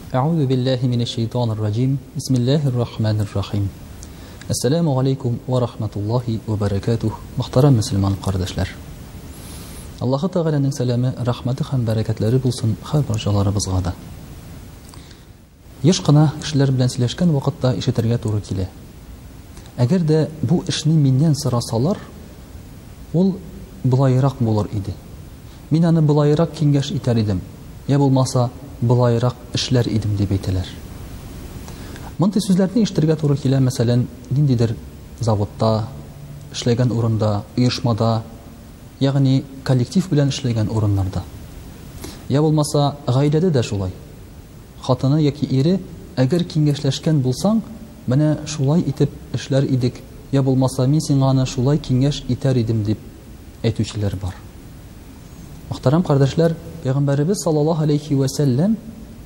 أعوذ بالله من الشيطان الرجيم بسم الله الرحمن الرحيم Assalamu alaikum wa rahmatullahi wa barakatuh. Muhtaram Müslüman kardeşler. Allahu Teala'nın selamı, rahmeti hem bereketleri bulsun her barchalarыбызга да. Еш кына кешеләр белән сөйләшкән вакытта ишетергә туры килә. Әгәр дә бу эшне миннән сорасалар, ул булайрак булыр иде. Мин аны булайрак киңәш итәр идем. Я булмаса, булайрак эшләр идем дип әйтәләр. Мондай сүзләрне ишетергә туры килә, мәсәлән, ниндидер заводта, эшләгән урында, оешмада, ягъни коллектив белән эшләгән урыннарда. Я булмаса, гаиләдә дә шулай. Хатыны яки ире, әгәр киңәшләшкән булсаң, менә шулай итеп эшләр идек, я булмаса, мин сиңа аны шулай киңәш итәр идем дип әйтүчеләр бар. Мөхтәрәм кардәшләр, Пәйгамбәрбез саллаллаһу алейхи ва сәлләм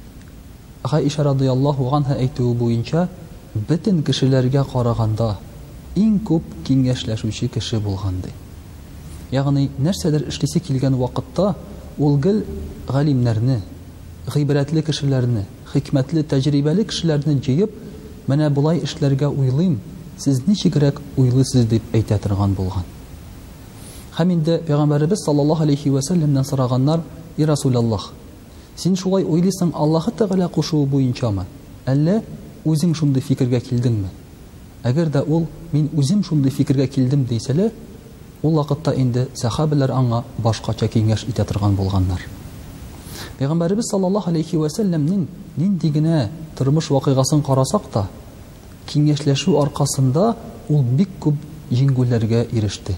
Гайша радиллаһу анха әйтүе буенча, бөтен кешеләргә караганда иң күп киңәшләшүче кеше булган ди. Ягъни нәрсәдер эшлисе килгән вакытта ул гел галимнәрне, гыйбрәтле кешеләрне, хикмәтле, тәҗрибәле кешеләрне җыеп, менә булай эшләргә уйлыйм, сез ничегрәк уйлыйсыз дип әйтә торган булган. Һәм инде Пәйгамбәрбез саллаллаһу алейхи ва сәлләмнән сораганнар: "И Расулаллаһ, син шулай уйлыйсың Аллаһы Тәгалә кушуы буенчамы? Әллә үзең шундый фикергә килдеңме?" Әгәр дә ул мин үзем шундый фикергә килдем дисәләр, ул вакытта инде сахабалар аңа башкача киңәш итә торган булганнар. Пәйгамбәрбез саллаллаһу алейхи ва сәлләмнең нинди генә тормыш вакыйгасын карасак та, киңәшләшү аркасында ул бик күп җиңгүләргә иреште.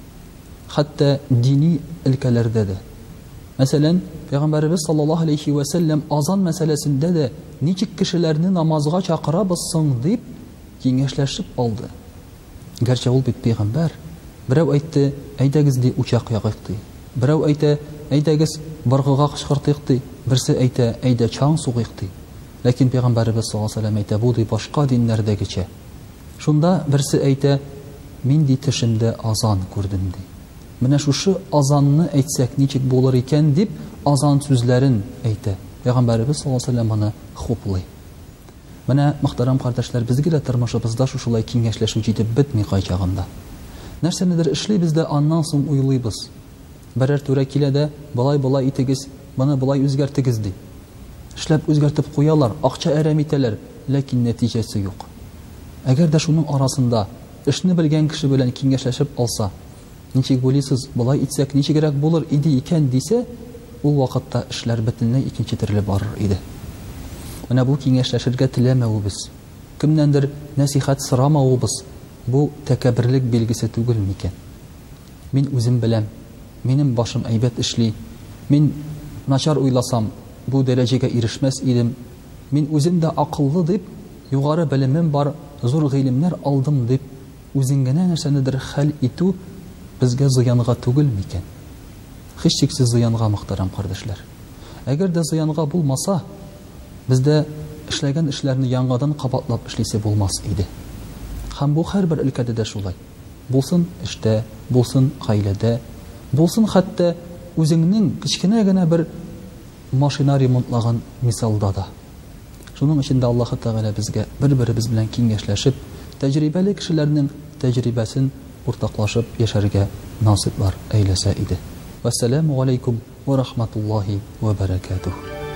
Хәтта дини өлкәләрдә дә. Мәсәлән, Пәйгамбәрбез саллаллаһу алейхи ва сәлләм азан мәсьәләсендә дә ничек кешеләрне намазга чакырабыз соң дип киңәшләшеп алды. Гәрчә ул бит пәйгамбәр. Берәү әйтте: "Әйдәгез ди учак ягыйк" ди. Берәү әйтә: "Әйдәгез баргыга кычкыртыйк" ди. Берсе әйтә: "Әйдә чаң сугыйк" ди. Ләкин Пәйгамбәрбез саллаллаһу алейхи ва сәлләм әйтә: "Бу ди башка диннәрдәгечә." Шунда берсе әйтә: "Мин ди төшемдә азан күрдем" ди. Менә шушы азанны әйтсәк ничек булыр икән дип азан сүзләрен әйтә. Пәйгамбәрбез саллаллаһу алейхи ва сәлләм аны хуплый. Менә мөхтәрәм кардәшләр, безгә дә тормышыбызда шушылай киңәшләшү җитеп бетми кайчагында. Нәрсәнедер эшлибез дә аннан соң уйлыйбыз. Берәр түрә килә дә: "Булай итегез, моны булай үзгәртегез" ди. Эшләп үзгәртеп куялар, акча әрәм итәләр, ләкин нәтиҗәсе юк. Әгәр дә шуның арасында эшне белгән кеше белән киңәшләшеп алса, ничек булыйсыз, булай итсәк ничегрәк булыр иде икән дисә, ул вакытта эшләр бөтенләй икенче төрле барыр иде. Менә бу киңәшләшергә теләмәвебез, кемнәндер насихат сорамавыбыз, бу тәкәбберлек билгесе түгел микән? Мин үзем беләм, минем башым әйбәт эшли, мин начар уйласам, бу дәрәҗәгә ирешмәс идем, мин үзем дә акыллы дип, югары белемем бар, зур гыйлемнәр алдым дип, үзең генә нәрсәнедер хәл итү безгә зыянга түгел микән? Һичшиксез зыянга, мөхтәрәм кардәшләр. Әгәр дә зыянга булмаса, бездә эшләгән эшләрне яңадан кабатлап эшлисе булмас иде. Һәм бу һәрбер өлкәдә дә шулай. Булсын эштә, булсын гаиләдә, булсын хәтта үзеңнең кичкенә генә бер машина ремонтлаган мисалда да. Шуның өчен дә Аллаһу Тәгалә безгә бер-беребез белән киңәшләшеп, тәҗрибәле кешеләрнең тәҗрибәсен уртаклашып яшәргә насыйплар әйләсә иде. Вассаламу алейкум ва рахматуллаһи ва баракатуһ.